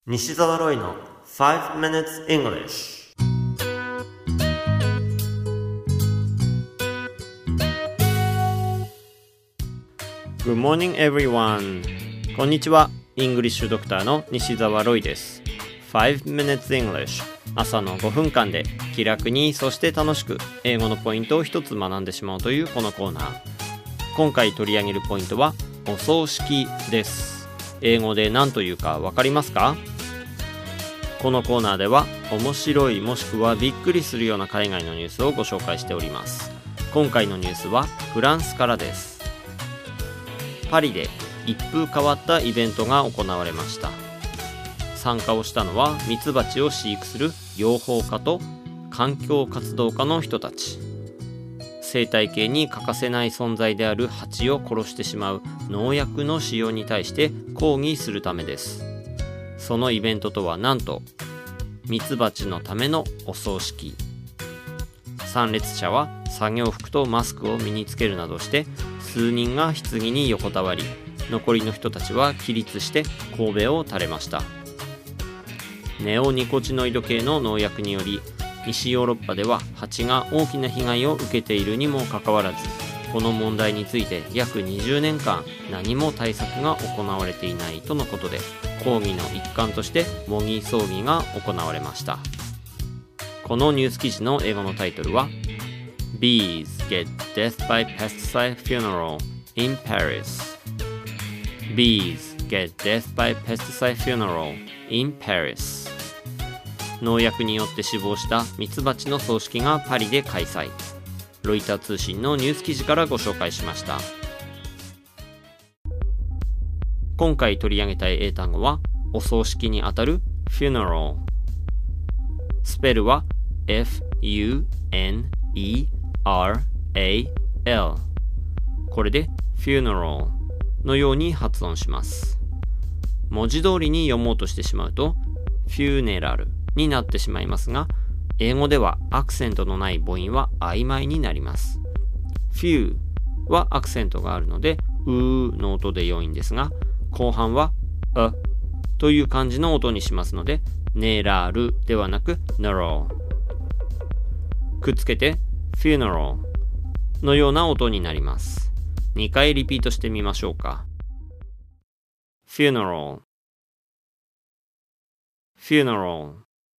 西澤ロイの5 minutes English。 Good morning everyone。 こんにちは。イングリッシュドクターの西澤ロイです。5 minutes English、 朝の5分間で気楽にそして楽しく英語のポイントを一つ学んでしまうというこのコーナー。今回取り上げるポイントはお葬式です。英語で何というかわかりますか？このコーナーでは面白いもしくはびっくりするような海外のニュースをご紹介しております。今回のニュースはフランスからです。パリで一風変わったイベントが行われました。参加をしたのはミツバチを飼育する養蜂家と環境活動家の人たち。生態系に欠かせない存在である蜂を殺してしまう農薬の使用に対して抗議するためです。そのイベントとはなんとミツバチのためのお葬式。参列者は作業服とマスクを身につけるなどして数人が棺に横たわり、残りの人たちは起立して頭を垂れました。ネオニコチノイド系の農薬により西ヨーロッパでは蜂が大きな被害を受けているにもかかわらず、この問題について約20年間何も対策が行われていないとのことで、抗議の一環として模擬葬儀が行われました。このニュース記事の英語のタイトルは Bees get death by pesticide funeral in Paris。 Bees get death by pesticide funeral in Paris。 農薬によって死亡したミツバチの葬式がパリで開催。ロイター通信のニュース記事からご紹介しました。今回取り上げたい英単語はお葬式にあたる funeral。 スペルは F-U-N-E-R-A-L。 これで funeral のように発音します。文字通りに読もうとしてしまうと funeral になってしまいますが、英語ではアクセントのない母音は曖昧になります。 few はアクセントがあるのでうーの音で良いんですが、後半はあという感じの音にしますので、ネラルではなくナロー。くっつけて funeral のような音になります。2回リピートしてみましょうか。 funeral funeral。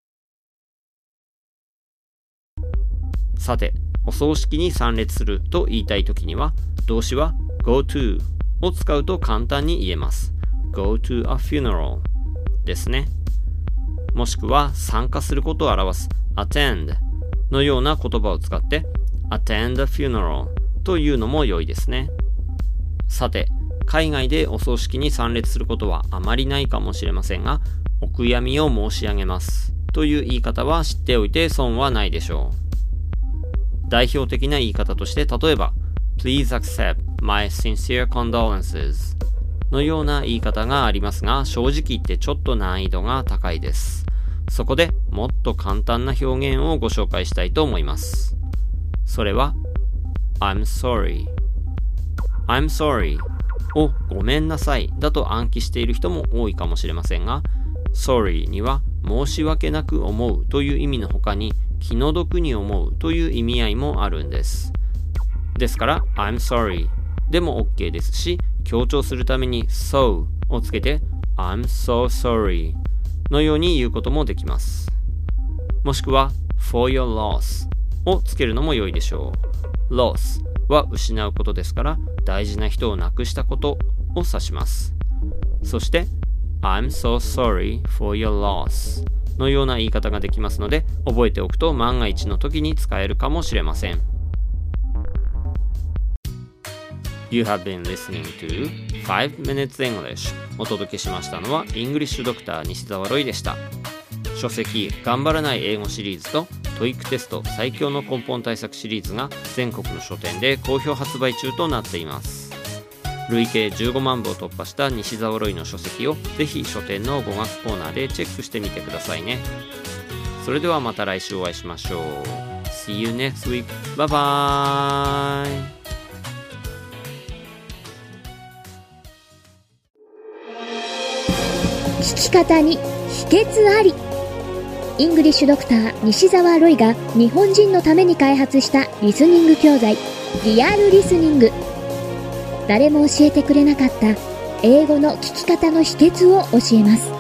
さて、お葬式に参列すると言いたいときには動詞は go toを使うと簡単に言えます。 Go to a funeral ですね。もしくは参加することを表す attend のような言葉を使って attend a funeral というのも良いですね。さて、海外でお葬式に参列することはあまりないかもしれませんが、お悔やみを申し上げますという言い方は知っておいて損はないでしょう。代表的な言い方として、例えば Please accept my sincere condolences のような言い方がありますが、正直言ってちょっと難易度が高いです。そこでもっと簡単な表現をご紹介したいと思います。それは I'm sorry。 I'm sorry をごめんなさいだと暗記している人も多いかもしれませんが、 sorry には申し訳なく思うという意味の他に気の毒に思うという意味合いもあるんです。ですから I'm sorry でも OK ですし、強調するために so をつけて I'm so sorry のように言うこともできます。もしくは for your loss をつけるのも良いでしょう。 loss は失うことですから、大事な人を亡くしたことを指します。そして I'm so sorry for your loss のような言い方ができますので、覚えておくと万が一の時に使えるかもしれません。You have been listening to 5 minutes English。 お届けしましたのはイングリッシュドクター西澤ロイでした。書籍頑張らない英語シリーズと TOEIC テスト最強の根本対策シリーズが全国の書店で好評発売中となっています。累計15万部を突破した西澤ロイの書籍をぜひ書店の語学コーナーでチェックしてみてくださいね。それではまた来週お会いしましょう。 See you next week. Bye bye。 聞き方に秘訣あり。イングリッシュドクター西澤ロイが日本人のために開発したリスニング教材リアルリスニング。誰も教えてくれなかった英語の聞き方の秘訣を教えます。